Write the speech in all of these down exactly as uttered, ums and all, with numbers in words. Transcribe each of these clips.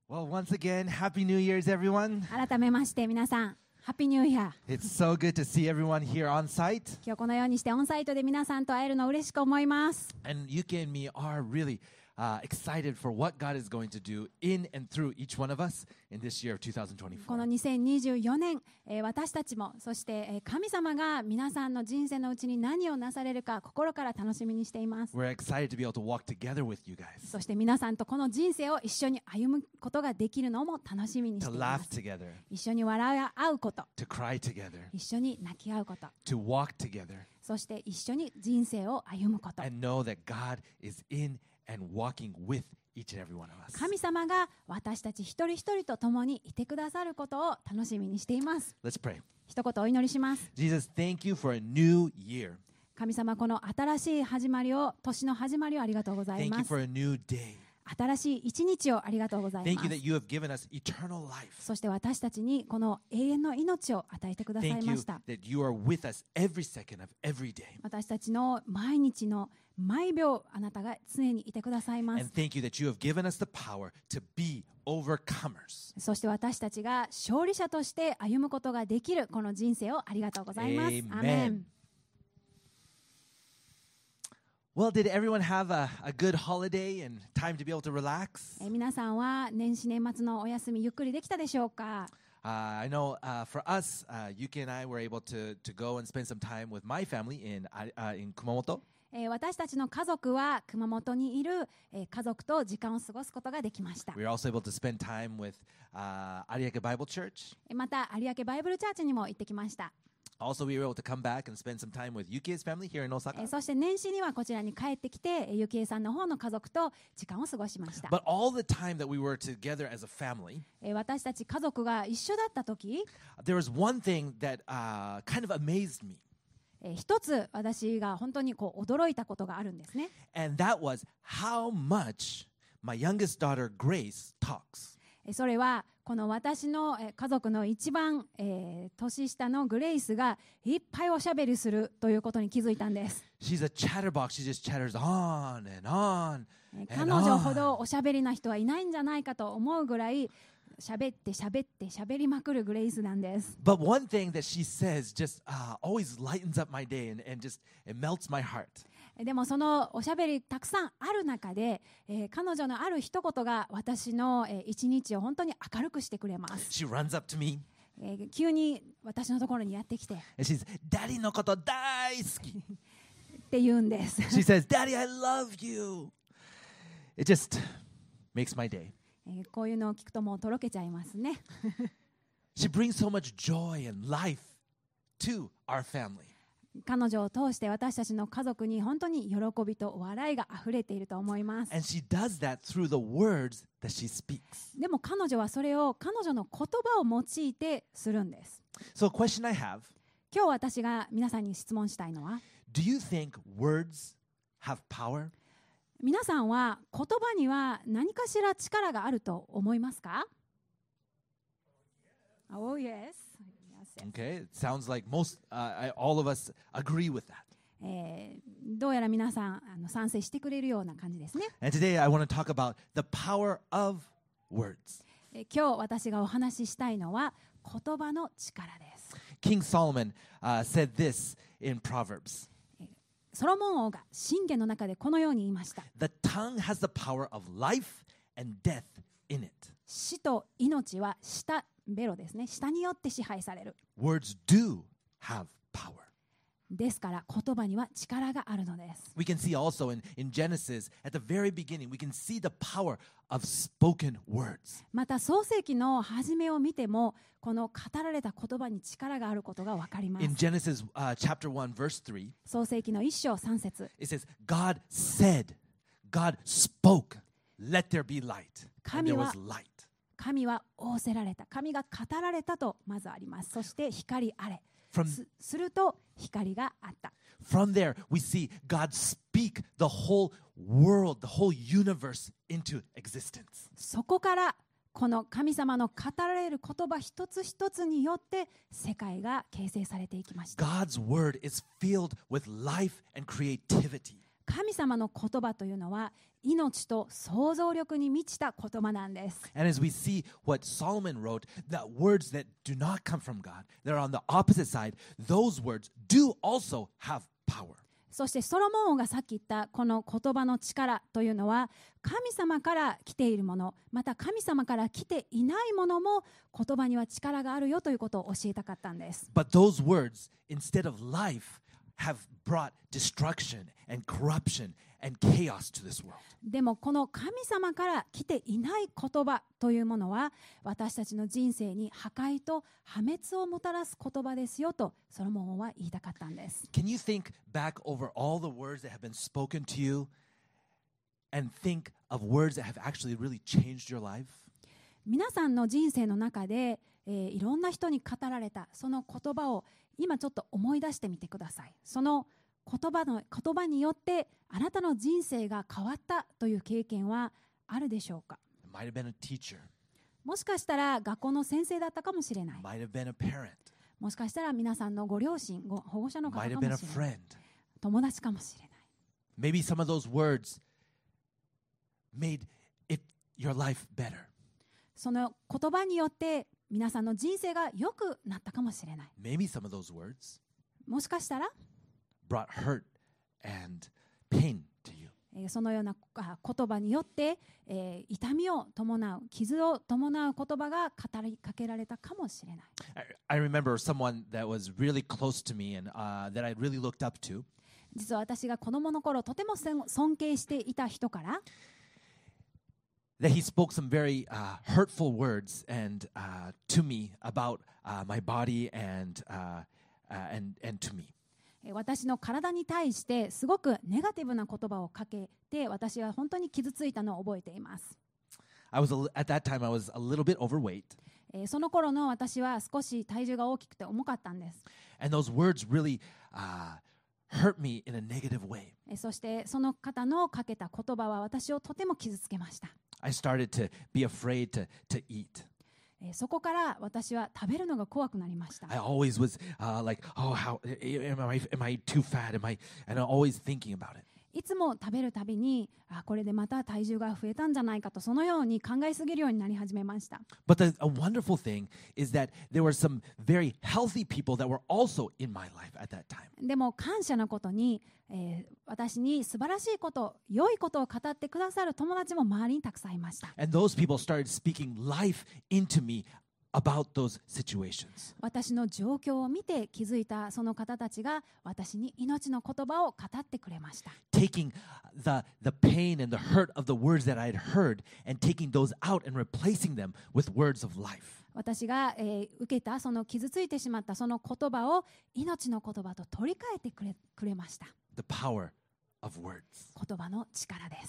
Well, once again, Happy New Year's, everyone. 改めまして皆さん、ハッピーニューイヤー。 It's so good to see everyone here on site. 今日このようにしてオンサイトで皆さんと会えるのを嬉しく思います。 And Yuki and me are really uh, excited for what God is going to do in and through each one of us in this year of この twenty twenty-four. にせんにじゅうよねん、えー私たちもそして、えー神様が皆さんの人生のうちに何をなされるか心から楽しみにしています。 We're excited to be able to walk together with you guys, そして皆さんとこの人生を一緒に歩むことができるのも楽しみにし to ていま laugh す。 together, 一緒に笑い合うこと、 to cry together, 一緒に泣き合うこと、 to walk together, そして一緒に人生を歩むこと。 and know that God is in and walking with each and every one of us. 神様が私たち一人一人と共にいてくださることを楽しみにしています。 Let's pray. 一言お祈りします。 Jesus, thank you for a new year. 神様、この新しい始まりを、年の始まりをありがとうござい Thank ま you す。 for a new day. 新しい一日をありがとうござい Thank ま you す。 that you have given us eternal life. そして私たちにこの永遠の命を与えてください Thank ま you した。 that you are with us every second of every day. 私たちの毎日の毎秒、あなたが常にいてくださいま And す。 thank you that you have given us the power to be overcomers. そして私たちが勝利者として歩むことができるこの人生をありがとうございます。 Amen. アーメン。 Well, did everyone have a, a good holiday and time to be able to relax? えー皆さんは年始年末のお休みゆっくりできたでしょうか。 Uh, I know uh, for us, uh, Yuki and I were able to, to go and spend some time with my family in, uh, in Kumamoto. えー私たちの家族は熊本にいる、えー家族と時間を過ごすことができました。 We were also able to spend time with uh, Ariake Bible Church. えーまた有明バイブルチャーチにも行ってきました。 Also, we were able to come back and spend some time with Yuki's family here in え Osaka. ーそして年始にはこちらに帰ってきて、えーゆきえさんの方の家族と時間を過ごしました。 But all the time that we were together as a family, えー私たち家族が一緒だった時、 there was one thing that uh, kind of amazed me, えー一つ私が本当にこう驚いたことがあるんですね。 and that was how much my youngest daughter, Grace, talks. えーそれはこの私のえー家族の一番、えー年下のグレイスがいっぱいおしゃべりするということに気づいたんです。 She's a chatterbox. She just chatters on and on えー and 彼女ほ on. どおしゃべりな人はいないんじゃないかと思うぐらい喋って喋って喋りまくるグレイスなんです。 But one thing that she says just uh, always lightens up my day and, and just it melts my heart. でもそのおしゃべりたくさんある中で、えー彼女のある一言が私の、えー一日を本当に明るくしてくれます。 She runs up to me えー急に私のところにやってきてっ and she's, Daddy no koto daisuki. て言うんです。 She says, Daddy, I love you. It just makes my day. えーこういうのを聞くともうとろけちゃいますね。 She brings so much joy and life to our family. 彼女を通して私たちの家族に本当に喜びと笑いがあふれていると思います。 And she does that through the words that she speaks. でも彼女はそれを彼女の言葉を用いてするんです。 So a question I have, 今日私が皆さんに質問したいのは、 do you think words have power? 皆さんは言葉には何かしら力があると思いますか？ Oh yes. Yes, yes. Okay, it sounds like most, uh, I, all of us agree with that. えーどうやら皆さんあの賛成してくれるような感じですね。 And today I want to talk about the power of words. えー今日私がお話ししたいのは言葉の力です。 King Solomon uh, said this in Proverbs. ソロモン王が箴言の中でこのように言いました。 The tongue has the power of life and death in it. 死と命は舌、ベロですね。舌によって支配される。 Words do have power. ですから言葉には力があるのです。 We can see also in, in Genesis, at the very beginning, we can see the power of spoken words. また創世記の初めを見てもこの語られた言葉に力があることがわかります。 In Genesis uh, chapter one, verse three, 創世記の一章三節、 it says, God said, God spoke, let there be light. And there was light. 神は仰せられた、神が語られたとまずあります。そして光あれ、 From, す, すると光があった。 from there, we see God speak the whole world, the whole universe into existence. そこからこの神様の語られる言葉一つ一つによって世界が形成されていきました。 God's word is filled with life and creativity. 神様の言葉というのは命と想像力に満ちた言葉なんです。 And as we see what Solomon wrote, that words that do not come from God, that are on the opposite side, those words do also have power. そしてソロモン王がさっき言ったこの言葉の力というのは神様から来ているもの、また神様から来ていないものも言葉には力があるよということを教えたかったんです。 But those words, instead of life, have brought destruction and corruption and chaos to this world. でもこの神様から来ていない言葉というものは私たちの人生に破壊と破滅をもたらす言葉ですよとソロモン王は言いたかったんです。 Can you think back over all the words that have been spoken to you and think of words that have actually really changed your life? 皆さんの人生の中で、えー、いろんな人に語られたその言葉を今ちょっと思い出してみてください。その言葉の言葉によってあなたの人生が変わったという経験はあるでしょうか。 It might have been a teacher. もしかしたら学校の先生だったかもしれない。 It might have been a parent. もしかしたら皆さんのご両親、ご保護者の It 方 might か have も been a しれない。 friend. 友達かもしれない。 Maybe some of those words made it your life better. その言葉によって皆さんの人生が良くなったかもしれない。 Maybe some of those words もしかしたら brought hurt and pain to you. えーそのようなあ言葉によって、えー痛みを伴う、傷を伴う言葉が語りかけられたかもしれない。 I, I remember someone that was really close to me and uh, that I really looked up to. 実は私が子供の頃とても尊敬していた人から、 That he spoke some very uh, hurtful words and uh, to me about uh, my body and uh, uh, and and to me. えー私の体に対してすごくネガティブな言葉をかけて、私は本当に傷ついたのを覚えています。 I was a, li- at that time I was a little bit overweight, えーその頃の私は少し体重が大きくて重かったんです。 and those words really uh, hurt me in a negative way. えーそしてその方のかけた言葉は私をとても傷つけました。 I started to be afraid to to eat. えーそこから私は食べるのが怖くなりました。 I always was uh, like, oh, how am I? Am I too fat? Am I? And I'm always thinking about it. いつも食べるたびに、あ、これでまた体重が増えたんじゃないかと、そのように考えすぎるようになり始めました。 But the, a wonderful thing is that there were some very healthy people that were also in my life at that time. でも感謝なことに、えー私に素晴らしいこと、良いことを語ってくださる友達も周りにたくさんいました。 And those people started speaking life into me about those situations. 私の状況を見て気づいたその方たちが私に命の言葉を語ってくれました。 Taking the, the pain and the hurt of the words that I had heard and taking those out and replacing them with words of life. 私が、えー受けたその傷ついてしまったその言葉を命の言葉と取り替えてくれ、くれました。 The power of words. 言葉の力です。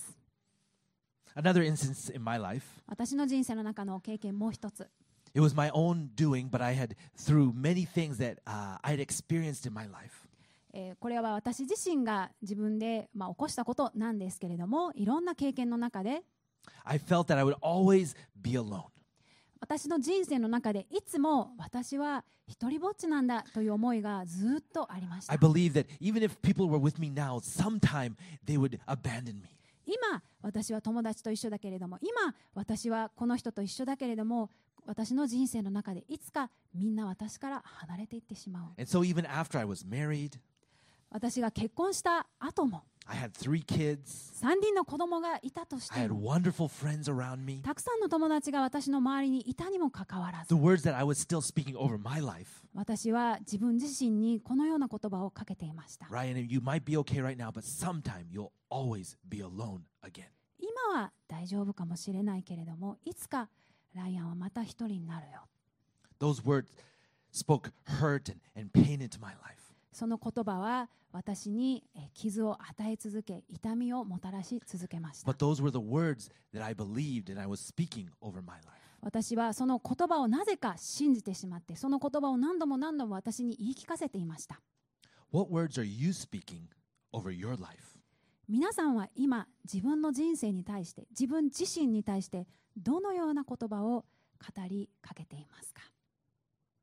Another instance in my life, 私の人生の中の経験もう一つ。 it was my own doing, but I had, through many things that uh, I had experienced in my life, えーこれは私自身が自分で、まあ、起こしたことなんですけれども、いろんな経験の中で I felt that I would always be alone. 私の人生の中でいつも私は一人ぼっちなんだという思いがずっとありました。 I believe that even if people were with me now, sometime they would abandon me. 今私は友達と一緒だけれども、今私はこの人と一緒だけれども、私の人生の中でいつかみんな私から離れていってしまう。 And so even after I was married, 私が結婚した後も I had three kids. さんにんの子供がいたとし I て had も、 wonderful friends around me. たくさんの友達が私の周りにいたにもかかわらず、 The words that I was still speaking over my life, 私は自分自身にこのような言葉をかけていました。 Ryan, you might be okay right now, but sometime you'll always be alone again. 今は大丈夫かもしれないけれども、いつかライアンはまた一人になるよ。 Those words spoke hurt and, and pain into my life. その言葉は私にえー傷を与え続け、痛みをもたらし続けました。 But those were the words that I believed and I was speaking over my life. 私はその言葉をなぜか信じてしまって、その言葉を何度も何度も私に言い聞かせていました。 What words are you speaking over your life? 皆さんは今自分の人生に対して、自分自身に対してどのような言葉を語りかけていますか？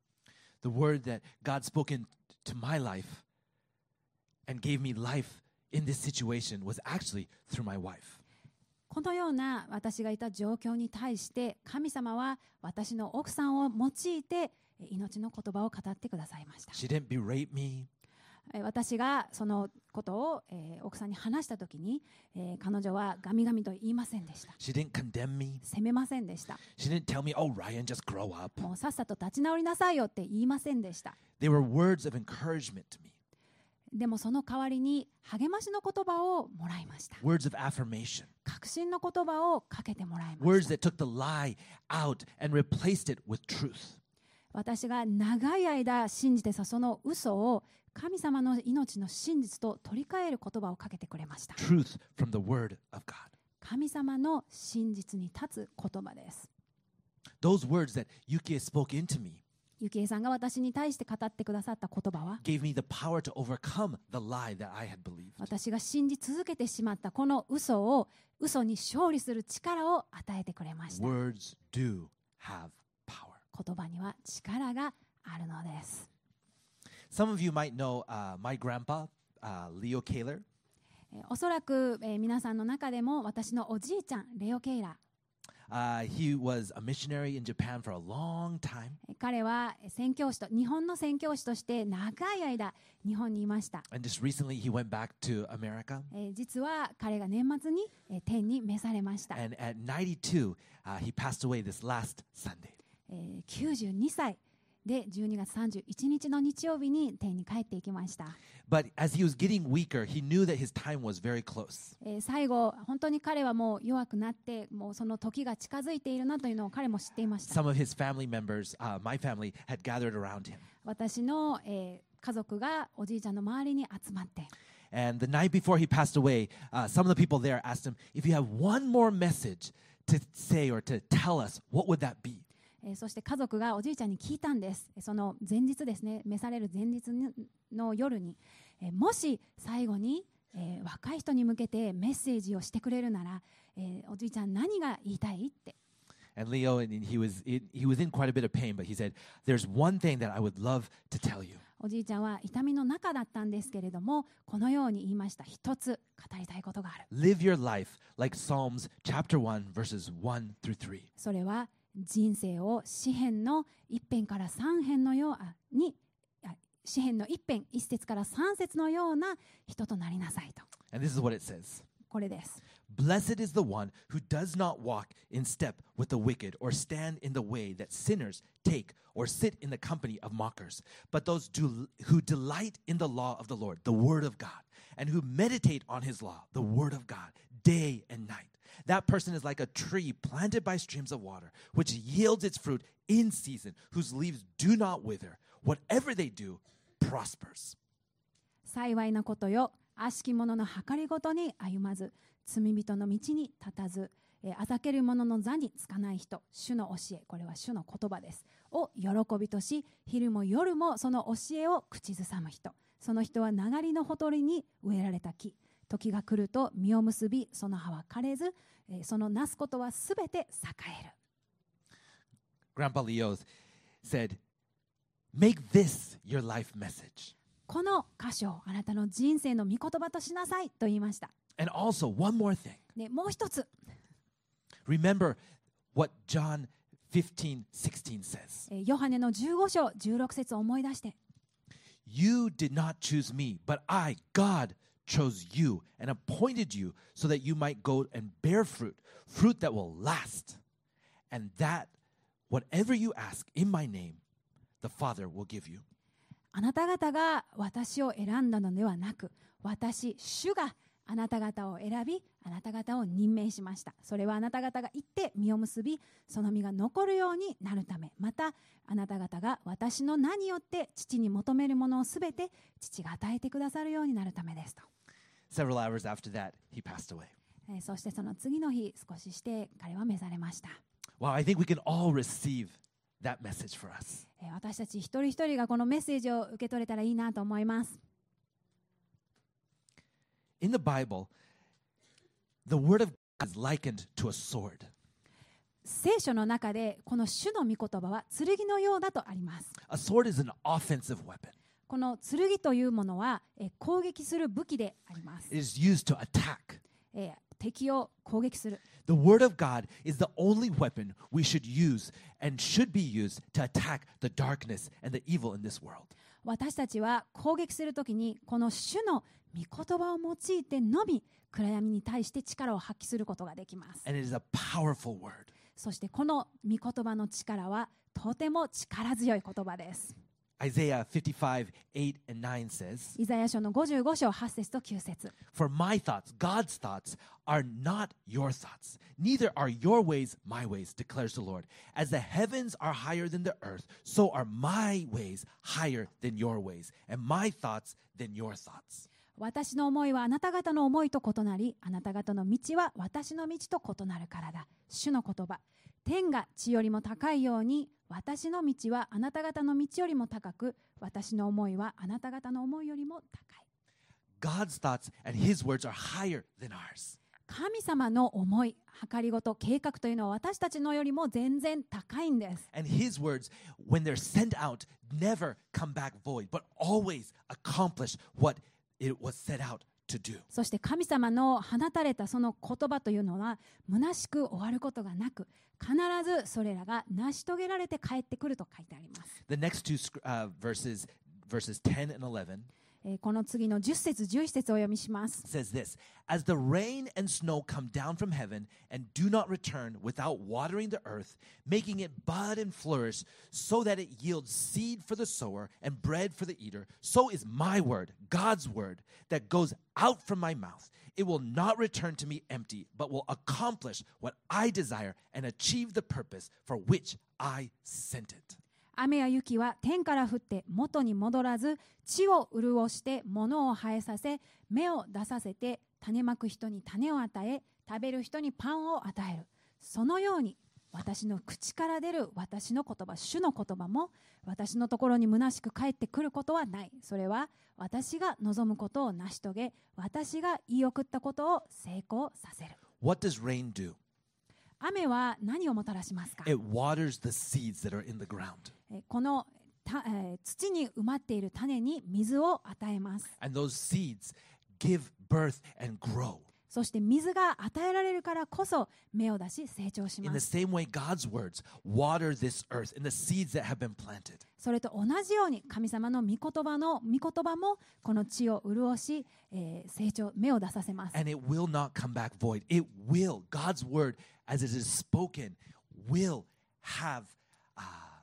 The word that God spoke into my life and gave me life in this situation was actually through my wife. このような私がいた状況に対して神様は私の奥さんを用いて命の言葉を語ってくださいました。 She didn't berate me. 私がそのことを、えー、奥さんに話したときに、えー、彼女はガミガミと言いませんでした。 She didn't condemn me. 責めませんでした。 She didn't tell me, oh, Ryan, just grow up. もうさっさと立ち直りなさいよって言いませんでした。 They were words of encouragement to me, でもその代わりに励ましの言葉をもらいました。 words of affirmation, 確信の言葉をかけてもらいま words した。 that took the lie out and replaced it with truth. 私が長い間信じてたその嘘を神様の命の真実と取り替える言葉をかけてくれました。 Truth from the word of God. 神様の真実に立つ言葉です。 Those words that Yukie spoke into me ゆきえさんが私に対して語ってくださった言葉は gave me the power to overcome the lie that I had believed. 私が信じ続けてしまったこの嘘を嘘に勝利する力を与えてくれました。 Words do have power. 言葉には力があるのです。 Some of you might know uh, my grandpa, uh, Leo Kaler. えーおそらく、えー皆さんの中でも私のおじいちゃんレオ・ケイラ Uh, he was a missionary in Japan for a long time. えー彼は宣教師と日本の宣教師として長い間日本にいました。 And just recently, he went back to America. えー実は彼が年末に、えー天に召されました。 And at ninety-two, uh, he passed away this last Sunday. えーきゅうじゅうにさいでじゅうにがつさんじゅういちにちの日曜日に天に帰っていきました。 But as he was getting weaker, he knew that his time was very close. えー最後本当に彼はもう弱くなってもうその時が近づいているなというのを彼も知っていました。 Some of his family members, uh, my family, had gathered around him. 私の、えー家族がおじいちゃんの周りに集まって And the night before he passed away, uh, some of the people there asked him, if you have one more message to say or to tell us, what would that be? えーそして家族がおじいちゃんに聞いたんです。その前日ですね、召される前日の夜に、えーもし最後に、えー若い人に向けてメッセージをしてくれるなら、えーおじいちゃん何が言いたいって。 And Leo, and he was he was in quite a bit of pain, but he said, "There's one thing that I would love to tell you." おじいちゃんは痛みの中だったんですけれども、このように言いました。一つ語りたいことがある。 Live your life like Psalms chapter one, verses one through three. それは人生を詩編の一編から三編のようあにあ詩編の一編一節から三節のような人となりなさいと。 And this is what it says. これです。 Blessed is the one who does not walk in step with the wicked or stand in the way that sinners take or sit in the company of mockers, but those do, who delight in the law of the Lord, the word of God, and who meditate on his law, the word of God, day and night. That person is like a tree planted by streams of water, which yields its fruit in season, whose leaves do not wither. Whatever they do prospers. 幸いなことよ、悪しき者の計りごとに歩まず、罪人の道に立たず、えーあざける者の座につかない人、主の教え、これは主の言葉です、を喜びとし、昼も夜もその教えを口ずさむ人、その人は流れのほとりに植えられた木、時が来ると実を結び、その葉は枯れず、えーそのなすことはすべて栄える。 Grandpa Leo said, make this your life message. この箇所をあなたの人生の御言葉としなさいと言いました。 And also, one more thing. でもう一つ、 Remember what John fifteen sixteen says. えーヨハネのじゅうご章じゅうろく節を思い出して、 You did not choose me, but I, God, chose you and appointed you so that you might go and bear fruit, fruit that will last. And that whatever you ask in my name, the Father will give you. あなた方が私を選んだのではなく、私、主があなた方を選び、あなた方を任命しました。それはあなた方が行って実を結び、その実が残るようになるため、またあなた方が私の名によって父に求めるものをすべて父が与えてくださるようになるためですと。 Several hours after that, he passed away. えーそしてその次の日、少しして彼は召されました。 Wow, I think we can all receive that message for us. えー私たち一人一人がこのメッセージを受け取れたらいいなと思います。 In the Bible, the word of God is likened to a sword. 聖書の中でこの主の御言葉は剣のようだとあります。 A sword is an offensive weapon. この剣というものは、えー攻撃する武器であります。 It is used to attack. えー敵を攻撃する。 The word of God is the only weapon we should use and should be used to attack the darkness and the evil in this world. 私たちは攻撃するときにこの主の御言葉を用いてのみ暗闇に対して力を発揮することができます。 And it is a powerful word. そしてこの御言葉の力はとても力強い言葉です。 Isaiah fifty-five, eight and nine says, イザヤ書のごじゅうご章はち節ときゅう節。 For my thoughts, God's thoughts, are not your thoughts. Neither are your ways my ways, declares the Lord. As the heavens are higher than the earth, so are my ways higher than your ways, and my thoughts than your thoughts. 私の思いはあなた方の思いと異なり、あなた方の道は私の道と異なるからだ。主の言葉。天が地よりも高いように、私の道はあなた方の道よりも高く、私の思いはあなた方の思いよりも高い。 God's thoughts and his words are higher than ours. 神様の思い、計りごと、計画というのは私たちのよりも全然高いんです。 And his words, when they're sent out, never come back void, but always accomplish what it was set out to do. そして神様の放たれたその言葉というのは虚しく終わることがなく、必ずそれらが成し遂げられて帰ってくると書いてあります。 The next two uh, verses, verses ten and eleven, えーこの次のじゅっ節じゅういち節をお読みします。 says this: As the rain and snow come down from heaven and do not return without watering the earth, making it bud and flourish, so that it yields seed for the sower and bread for the eater, so is my word, God's word, that goes out from my mouth. It will not return to me empty, but will accomplish what I desire and achieve the purpose for which I sent it. 雨や雪は天から降って元に戻らず、地を潤して物を生えさせ、芽を出させて、種まく人に種を与え、食べる人にパンを与える。そのように私の口から出る私の言葉、主の言葉も私のところに虚しく帰ってくることはない。それは私が望むことを成し遂げ、私が言い送ったことを成功させる。 What does rain do? 雨は何をもたらしますか？ It waters the seeds that are in the ground. えーこのた、えー土に埋まっている種に水を与えます。 And those seeds give birth and grow. そして水が与えられるからこそ芽を出し成長し In ま the す。 same way, God's words water this earth and the seeds that have been planted. それと同じように神様の御言葉の御言葉もこの地を潤し、えー成長、芽を出させます。 And it will not come back void. It will. God's word, as it is spoken, will have uh,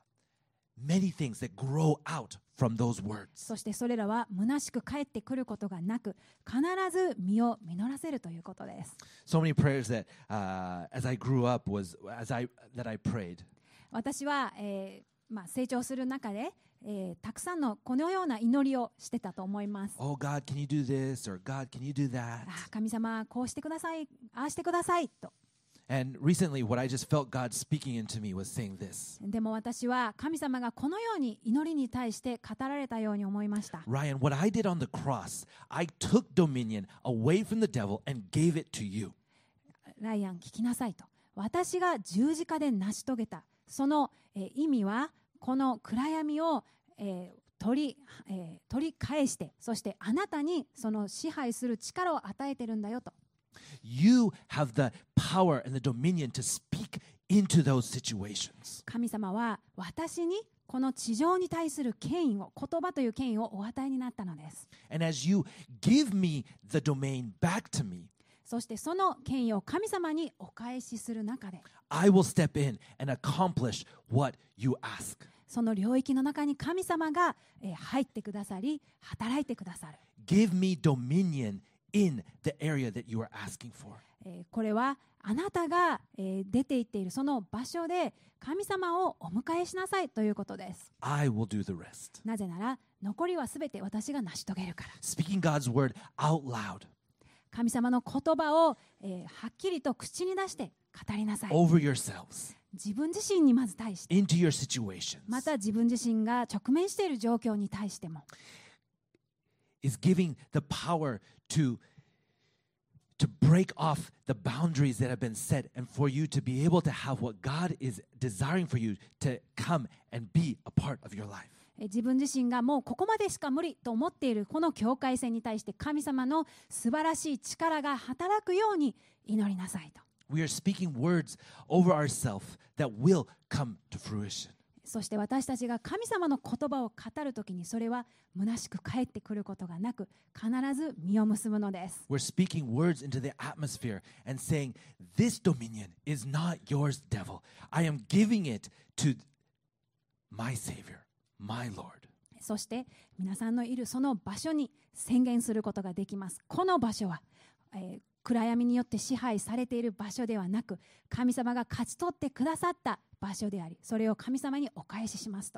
many things that grow out from those words. そしてそれらは虚しく帰ってくることがなく、必ず実を実らせるということです。 So many prayers that, uh, as I grew up, was as I that I prayed. 私は、えーまあ、成長する中で、えーたくさんのこのような祈りをしてたと思います。 Oh God, can you do this? Or God, can you do that? あ神様こうしてください、ああしてくださいと。 And recently, what I just felt God speaking into me was saying this. でも私は神様がこのように祈りに対して語られたように思いました。 Ryan, what I did on the cross, I took dominion away from the devil and gave it to you. ライアン聞きなさいと。私が十字架で成し遂げたその、えー意味はこの暗闇を、えー取り、えー取り返して、そしてあなたにその支配する力を与えてるんだよと。 You have the power and the dominion to speak into those situations. 神様は私にこの地上に対する権威を、言葉という権威をお与えになったのです。 And as you give me the domain back to me, そしてその権威を神様にお返しする中で、 I will step in and accomplish what you ask. その領域の中に神様が、えー入ってくださり、働いてくださる。 Give me dominion in the area that you are asking for. えーこれはあなたが、えー出て行っているその場所で神様をお迎えしなさいということです。 I will do the rest. なぜなら残りはすべて私が成し遂げるから。 Speaking God's word out loud 神様の言葉を、えーはっきりと口に出して語りなさい。 over yourselves 自分自身にまず対して、 into your situations また自分自身が直面している状況に対しても、 is giving the power to to break off the boundaries that have been set and for you to be able to have what God is desiring for you to come and be a part of your life. え自分自身がもうここまでしか無理と思っているこの境界線に対して神様の素晴らしい力が働くように祈りなさいと。 We are speaking words over ourselves that will come to fruition. そして私たちが神様の言葉を語るときにそれは虚しく返ってくることがなく必ず実を結ぶのです。 We're speaking words into the atmosphere and saying, this dominion is not yours, devil. I am giving it to my Savior, my Lord. そして皆さんのいるその場所に宣言することができます。この場所は、えー、暗闇によって支配されている場所ではなく神様が勝ち取ってくださった場所であり、それを神様にお返ししますと。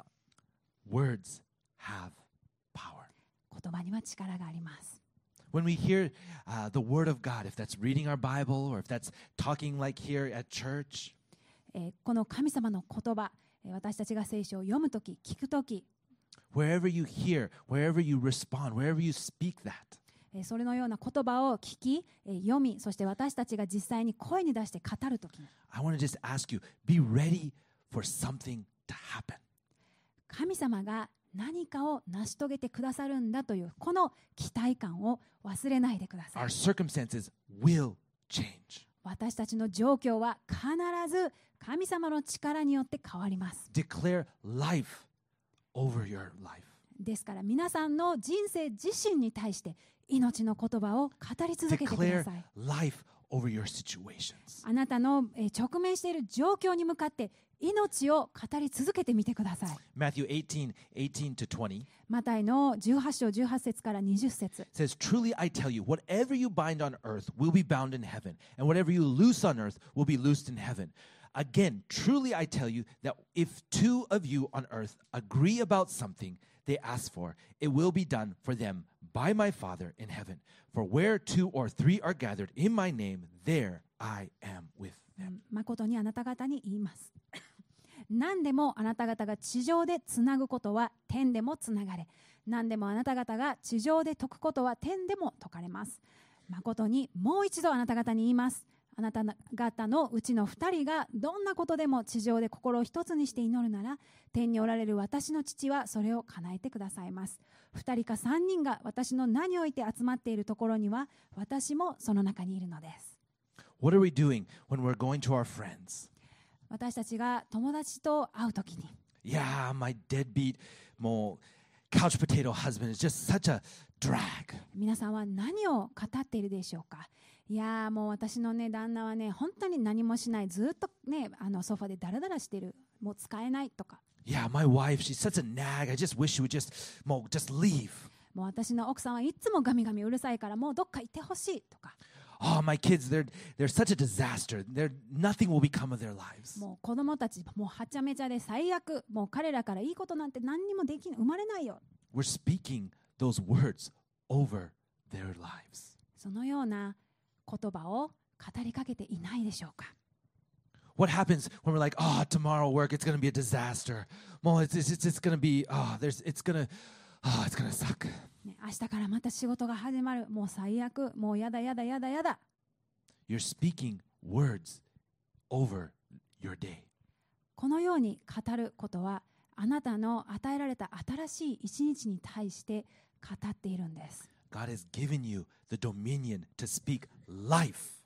Words have power. 言葉には力があります。 When we hear uh, the word of God, if that's reading our Bible or if that's talking like here at church, えー、この神様の言葉、私たちが聖書を読むとき、聞くとき、 wherever you hear, wherever you respond, wherever you speak that, それのような言葉を聞き、読み、そして私たちが実際に声に出して語るときに、 I want to just ask you, be ready for something to happen. 神様が何かを成し遂げてくださるんだというこの期待感を忘れないでください。 Our circumstances will change. 私たちの状況は必ず神様の力によって変わります。 Declare life over your life. ですから皆さんの人生自身に対して命の言葉を語り続けてくだ Declare さい。 life over your situations. あなたのえー直面している状況に向かって命を語り続けてみてください。 Matthew eighteen, eighteen to twenty マタイのじゅうはち章じゅうはち節からにじゅう節 says, Truly I tell you, whatever you bind on earth will be bound in heaven, and whatever you loose on earth will be loosed in heaven. Again, truly I tell you that if two of you on earth agree about something they ask for, it will be done for them by my Father in heaven. For where two or three are gathered in my name, there I am with them. 誠にあなた方に言います。何でもあなた方が地上でつなぐことは天でもつながれ、何でもあなた方が地上で解くことは天でも解かれます。誠にもう一度あなた方に言います。あなた方のうちの二人がどんなことでも地上で心を一つにして祈るなら、天におられる私の父はそれを叶えてくださいます。二人か三人が私の名において集まっているところには、私もその中にいるのです。 What are we doing when we're going to our friends? 私たちが友達と会うときに、 Yeah, my deadbeat, もう couch potato husband is just such a drag. 皆さんは何を語っているでしょうか。いやーもう私のね旦那はね本当に何もしない、ずっとねあのソファでダラダラしてる、もう使えないとか。 Yeah, my wife, she's such a nag. I just wish she would just, もう just leave. もう私の奥さんはいつもガミガミうるさいからもうどっか行ってほしいとか。 Oh, my kids, they're they're such a disaster. They're nothing will become of their lives. もう子供たちもうはちゃめちゃで最悪、もう彼らからいいことなんて何にもできない、生まれないよ。 We're speaking those words over their lives. そのような言葉を語りかけていないでしょうか。 What happens when we're like, oh, tomorrow work, it's going to be a disaster. Well, it's it's it's, it's going to be, oh, there's it's going to, oh, it's going to suck. ね、明日からまた仕事が始まる、もう最悪、もうやだやだやだやだ。 You're speaking words over your day. このように語ることはあなたの与えられた新しい一日に対して語っているんです。 God has given you the dominion to speak life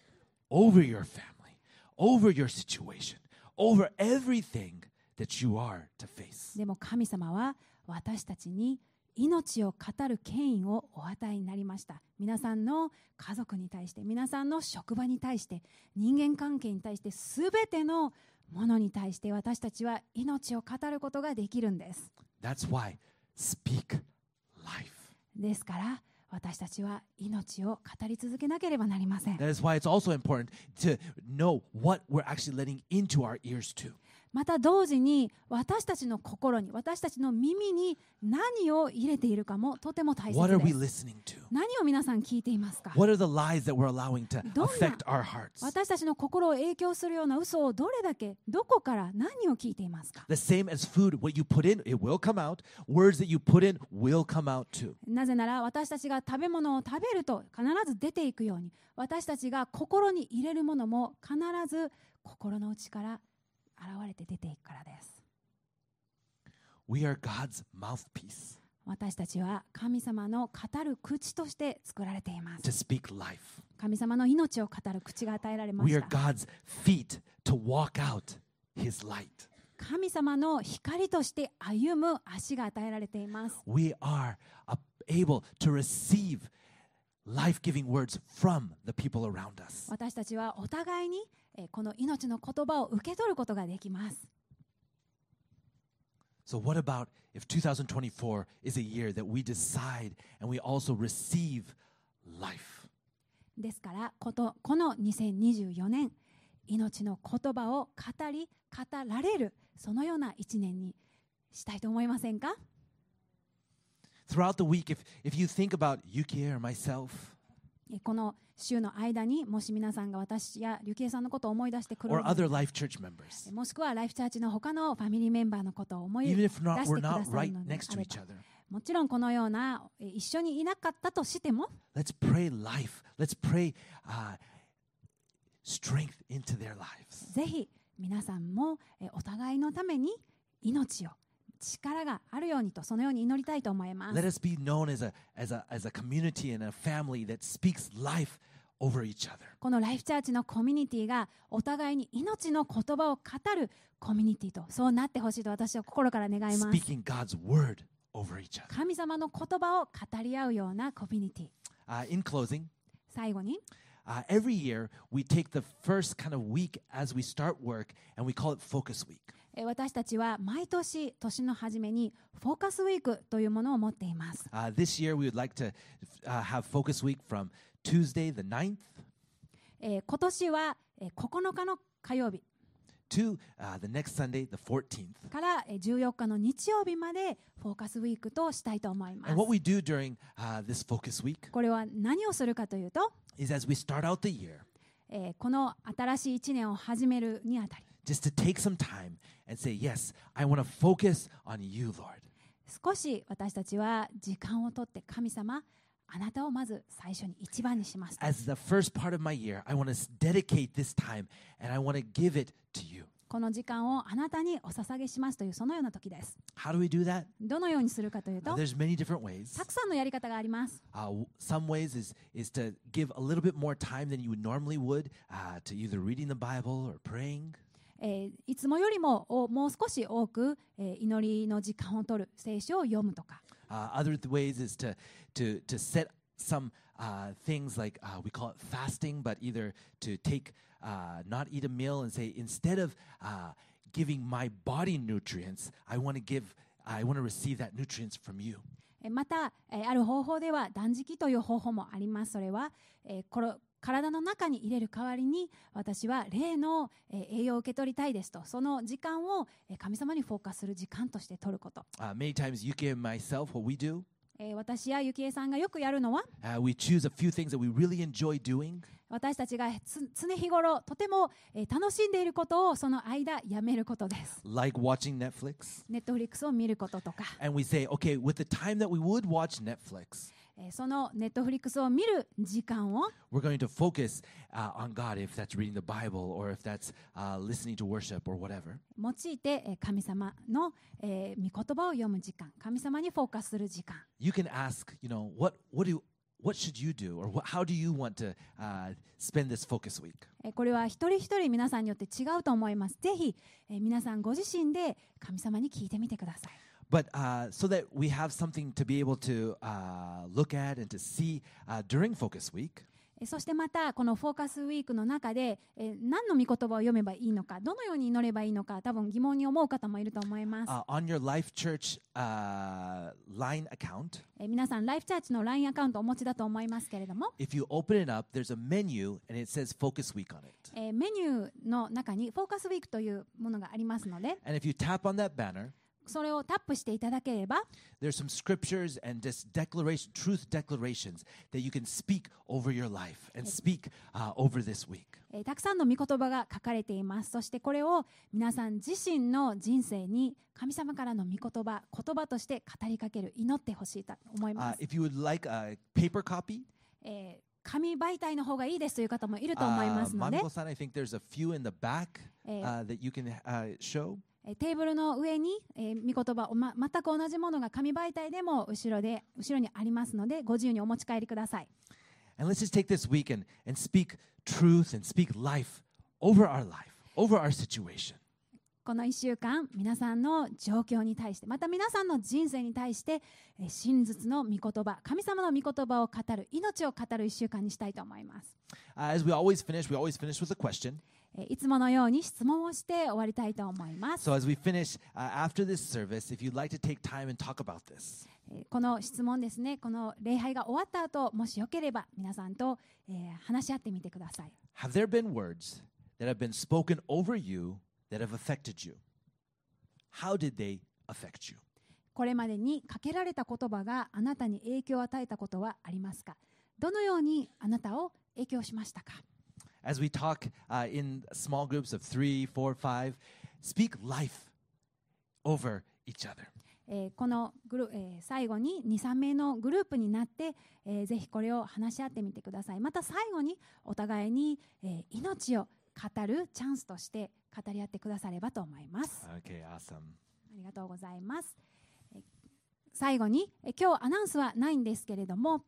over your family, over your situation, over everything that you are to face. でも神様は私たちに命を語る権威をお与えになりました。皆さんの家族に対して、皆さんの職場に対して、人間関係に対して、すべてのものに対して私たちは命を語ることができるんです。 That's why speak life. ですから私たちは命を語り続けなければなりません。 That is why it's also important to know what we're actually letting into our ears too. また同時に私たちの心に、私たちの耳に何を入れているかもとても大切 What are we です。 listening to? 何を皆さん聞いていますか？ What are the lies that we're allowing to どんな affect our hearts? 私たちの心を影響するような嘘をどれだけ、どこから何を聞いていますか？ The same as food, what you put in, it will come out. Words that you put in will come out too. なぜなら私たちが食べ物を食べると必ず出ていくように、私たちが心に入れるものも必ず心の内から現れて出ていくからです。 We are God's mouthpiece 私たちは神様の語る口として作られていま to す。 speak life. 神様の命を語る口が与えられま We し are た。 God's feet to walk out His light. 神様の光として歩む足が与えられています。 We are uh, able to receive life-giving words from the people around us. 私たちはお互いにえーこの命の言葉を受け取ることができます。 So what about if twenty twenty-four is a year that we decide and we also receive life? ですからこと、このにせんにじゅうよねん、命の言葉を語り、語られる、そのような一年にしたいと思いませんか？ Throughout the week, if, if you think about Yuki or myself, えこの週の間にもし皆さんが私やリュキエさんのことを思い出してくれ or る other Life Church members, もしくはライフチャーチの他のファミリーメンバーのことを思い even 出 if して not, く we're だ not さる right ので next あ to れ each ば other, もちろんこのようなえ一緒にいなかったとしても let's pray life. Let's pray uh, strength into their lives. ぜひ皆さんもえお互いのために命を力があるようにとそのように祈りたいと思いま Let す。 us be known as a, as a, as a community and a family that speaks life over each other. このライフチャーチのコミュニティがお互いに命の言葉を語るコミュニティとそうなってほしいと私は心から願います。 Speaking God's word over each other. 神様の言葉を語り合うようなコミュニティ。 Uh, in closing, 最後に uh, every year we take the first kind of week as we start work and we call it Focus Week. え私たちは毎年年の初めにフォーカスウィークというものを持っています。 Uh, this year we would like to uh, have Focus Week from Tuesday the ninth えー今年はえーここのかの火曜日 to uh, the next Sunday the fourteenth. からえーじゅうよっかの日曜日までフォーカスウィークとしたいと思います And。what we do during uh, this Focus Week これは何をするかというと、 is as we start out the year, えーこの新しいいちねんを始めるにあたり just to take some time and say, yes, I want to focus on you, Lord. 少し私たちは時間をとって神様あなたをまず最初に一番にしますと As the first part of my year, I want to dedicate this time and I want to give it to you. この時間をあなたにお捧げしますというそのような時です。 How do we do that? どのようにするかという Uh, と there's many different ways. たくさんのやり方があります。 Uh, w- some ways is, is to give a little bit more time than you would normally would uh, to either reading the Bible or praying. えーいつもよりもおもう少し多く、えー祈りの時間を取る聖書を読むとか Uh, other th- ways is to, to, to set some uh, things like uh, we call it fasting, but either to take, uh, not eat a meal and say, instead of uh, giving my body nutrients, I want to give, I want to receive that nutrients from you. えーまた、えーある方法では断食という方法もあります。それは、えーこれ体の中に入れる代わりに私は霊の、えー栄養を受け取りたいですとその時間を、えー神様にフォーカスする時間として取ること、 Uh, many times, Yuki and myself, what we do, えー私やゆきえさんがよくやるのは uh, we choose a few things that we really enjoy doing. 私たちがつ常日頃とても、えー楽しんでいることをその間やめることです。 Like watching Netflix. ネットフリックスを見ることとか、 And we say, okay, with the time that we would watch Netflix, えーそのネットフリックスを見る時間を we're going to focus uh, on God, if that's reading the Bible or if that's uh, listening to worship or whatever. 用いて、えー神様の、えー御言葉を読む時間、神様にフォーカスする時間、 You can ask, you know, what, what, do, what should you do or what, how do you want to uh, spend this focus week? えーこれは一人一人皆さんによって違うと思います。ぜひ、えー皆さんご自身で神様に聞いてみてください。 But uh, so that we have something to be able to uh, look at and to see uh, during Focus Week, えーそしてまたこのフォーカスウィークの中で、えー何の御言葉を読めばいいのか、どのように祈ればいいのか、多分疑問に思う方もいると思います。 uh, on your Life Church uh, line account, えー皆さんライフチャーチの ライン アカウントをお持ちだと思いますけれども、 if you open it up, there's a menu and it says Focus Week on it. えーメニューの中にフォーカスウィークというものがありますので、 And if you tap on that banner, それをタップしていただければ、 there's some scriptures and just declaration, truth declarations that you can speak over your life and speak uh, over this week. えーたくさんの御言葉が書かれています。そしてこれを皆さん自身の人生に神様からの御言葉、言葉として語りかける、祈ってほしいと思い Uh, ます。 if you would like a paper copy, えー紙媒体の方がいいですという方もいると思いま uh, すので、 Mango-san, I think there's a few in the back えー uh, that you can uh, show. えーテーブルの上に、えー、御言葉、ま、全く同じものが紙媒体でも後ろで後ろにありますので、ご自由にお持ち帰りください。 And let's just take this week and, and speak truth and speak life over our life, over our situation. このいっしゅうかん、皆さんの状況に対して、また皆さんの人生に対して、えー真実の御言葉、神様の御言葉を語る、命を語るいっしゅうかんにしたいと思います。 Uh, as we always finish, we always finish with a question. えーいつものように質問をして終わりたいと思います。 So as we finish uh, after this service, if you'd like to take time and talk about this, えーこの質問ですね、この礼拝が終わった後、もしよければ皆さんと、えー話し合ってみてください。 have there been words that have been spoken over you that have affected you? How did they affect you? これまでにかけられた言葉があなたに影響を与えたことはありますか？どのようにあなたを影響しましたか？ As we talk uh, in small groups of three, four, five, speak life over each other. えーこのグル、えー最後にに、さんめいのグループになって、えーぜひこれを話し合ってみてください。また最後にお互いに、えー命を語るチャンスとして語り合ってくださればと思います。 Okay, awesome. ありがとうございます。えー最後に、えー今日アナウンスはないんですけれども、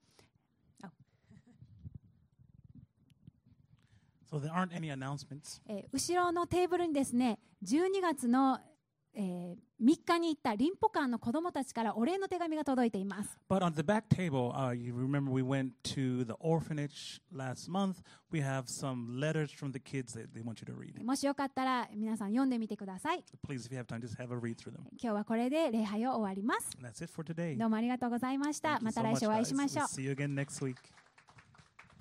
So there aren't any announcements. えー後ろのテーブルにですね、じゅうにがつの、えーみっかに行ったリンポ館の子どもたちからお礼の手紙が届いています。 But on the back table, uh, you remember we went to the orphanage last month. We have some letters from the kids that they want you to read. もしよかったら皆さん読んでみてください。 Please, if you have time, just have a read through them. 今日はこれで礼拝を終わります。 And that's it for today. どうもありがとうございました。 Thank you また so 来 much, 週お会い guys. しましょう We'll。see you again next week.